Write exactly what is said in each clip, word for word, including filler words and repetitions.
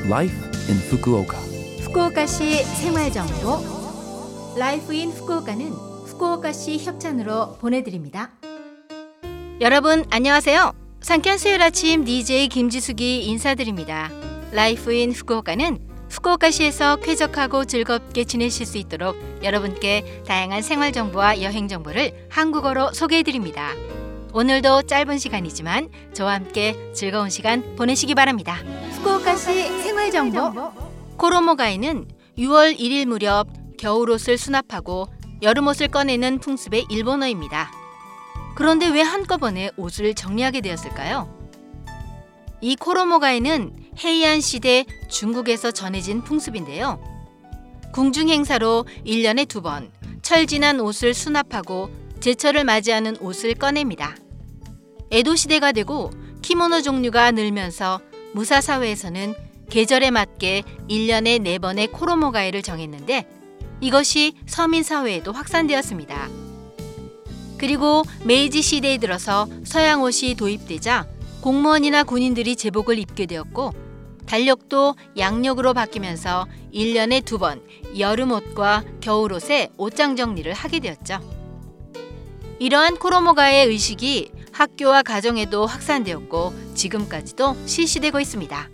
Life in Fukuoka. 후쿠오카시 생활정보 라이프 인 후쿠오카는 후쿠오카시 협찬으로 보내드립니다. 여러분 안녕하세요. 상쾌한 수요일 아침 디제이 김지숙이 인사드립니다. 라이프 인 후쿠오카는 후쿠오카시에서 쾌적하고 즐겁게 지내실 수 있도록 여러분께 다양한 생활정보와 여행정보를 한국어로 소개해드립니다. 오늘도 짧은 시간이지만 저와 함께 즐거운 시간 보내시기 바랍니다. 후쿠오카시 생활정보 코로모가에는 유월 일일 무렵 겨울옷을 수납하고 여름옷을 꺼내는 풍습의 일본어입니다. 그런데 왜 한꺼번에 옷을 정리하게 되었을까요? 이 코로모가에는 헤이안 시대 중국에서 전해진 풍습인데요. 궁중 행사로 일 년에 두 번 철진한 옷을 수납하고 제철을 맞이하는 옷을 꺼냅니다. 에도 시대가 되고 키모노 종류가 늘면서 무사 사회에서는 계절에 맞게 일 년에 네 번의 코로모가에를 정했는데 이것이 서민 사회에도 확산되었습니다. 그리고 메이지 시대에 들어서 서양 옷이 도입되자 공무원이나 군인들이 제복을 입게 되었고 달력도 양력으로 바뀌면서 일 년에 두 번 여름옷과 겨울옷의 옷장 정리를 하게 되었죠. 이러한 코로모가의 의식이 학교와 가정에도 확산되었고 지금까지도 실시되고 있습니다.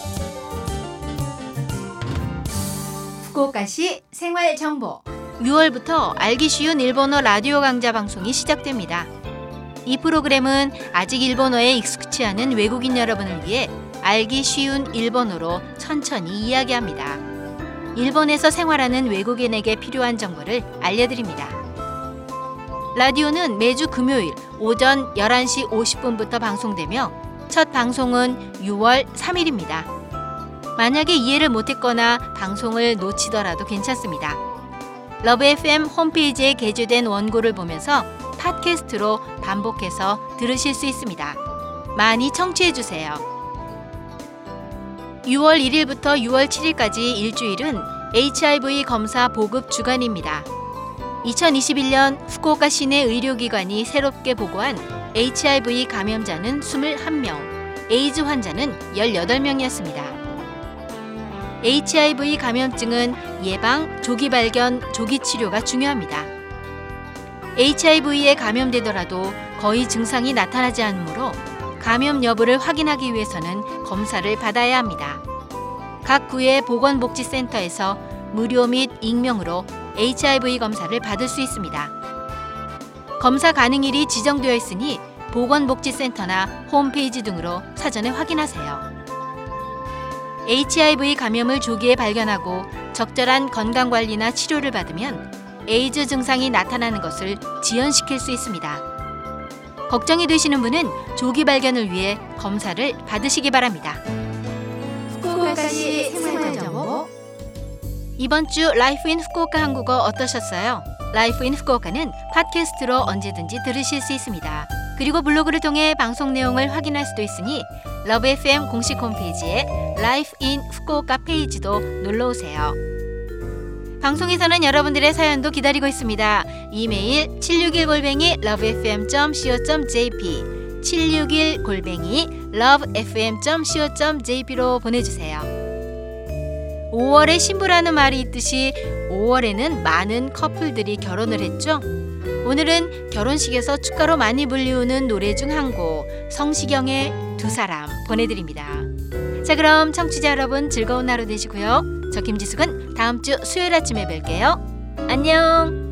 후쿠오카시 생활정보 유월부터 알기 쉬운 일본어 라디오 강좌 방송이 시작됩니다. 이 프로그램은 아직 일본어에 익숙치 않은 외국인 여러분을 위해 알기 쉬운 일본어로 천천히 이야기합니다. 일본에서 생활하는 외국인에게 필요한 정보를 알려드립니다. 라디오는 매주 금요일 오전 열한 시 오십 분부터 방송되며 첫 방송은 유월 삼일입니다. 만약에 이해를 못했거나 방송을 놓치더라도 괜찮습니다. 러브 에프엠 홈페이지에 게재된 원고를 보면서 팟캐스트로 반복해서 들으실 수 있습니다. 많이 청취해주세요. 유월 일일부터 유월 칠일까지 일주일은 에이치아이브이 검사 보급 주간입니다. 이천이십일 년 후쿠오카 시내 의료기관이 새롭게 보고한 에이치아이브이 감염자는 이십일 명, 에이즈 환자는 열여덟 명이었습니다. 에이치아이브이 감염증은 예방, 조기 발견, 조기 치료가 중요합니다. 에이치아이브이에 감염되더라도 거의 증상이 나타나지 않으므로 감염 여부를 확인하기 위해서는 검사를 받아야 합니다. 각 구의 보건복지센터에서 무료 및 익명으로 에이치아이브이 검사를 받을 수 있습니다. 검사 가능일이 지정되어 있으니 보건복지센터나 홈페이지 등으로 사전에 확인하세요. 에이치아이브이 감염을 조기에 발견하고 적절한 건강관리나 치료를 받으면 에이즈 증상이 나타나는 것을 지연시킬 수 있습니다. 걱정이 되시는 분은 조기 발견을 위해 검사를 받으시기 바랍니다. 후쿠오카시 생활정보 이번 주 라이프 인 후쿠오카 한국어 어떠셨어요? 라이프 인 후쿠오카는 팟캐스트로 언제든지 들으실 수 있습니다. 그리고 블로그를 통해 방송 내용을 확인할 수도 있으니 러브 에프엠 공식 홈페이지에 라이프 인 후쿠오카 페이지도 놀러오세요. 방송에서는 여러분들의 사연도 기다리고 있습니다. 이메일 칠육일 골뱅이 러브에프엠 닷 씨오 닷 제이피 칠육일 골뱅이 러브에프엠 닷 씨오 닷 제이피로 보내주세요. 오월에 신부라는 말이 있듯이 오월에는 많은 커플들이 결혼을 했죠. 오늘은 결혼식에서 축가로 많이 불리우는 노래 중 한 곡 성시경의 두 사람 보내드립니다. 자, 그럼 청취자 여러분 즐거운 하루 되시고요. 저 김지숙은 다음 주 수요일 아침에 뵐게요. 안녕.